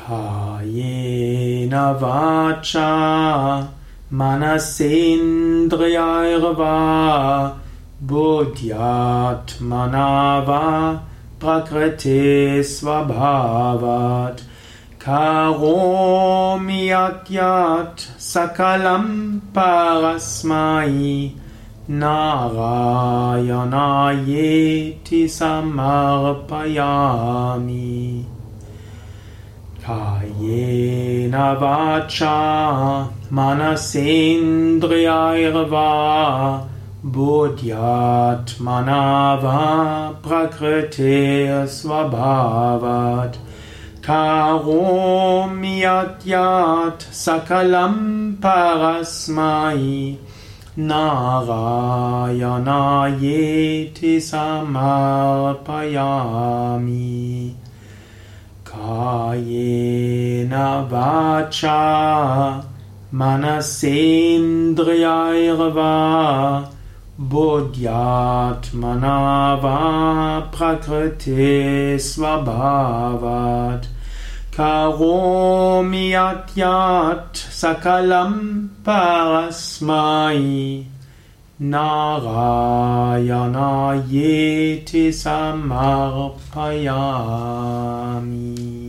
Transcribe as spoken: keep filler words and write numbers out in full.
Kayena vacha manasendriyairva buddhyatmana va prakriti svabhavat karomi yat yat sakalam parasmai narayanayeti samarpayami. Kayena vacha manasendriyairva buddhyatmana va prakriti svabhavat karomi yat yat sakalam parasmai narayanayeti samarpayami. Kayena vacha manasendriyairva buddhyatmana va prakriti svabhavat karomi yat yat sakalam parasmai narayanayeti samarpayami.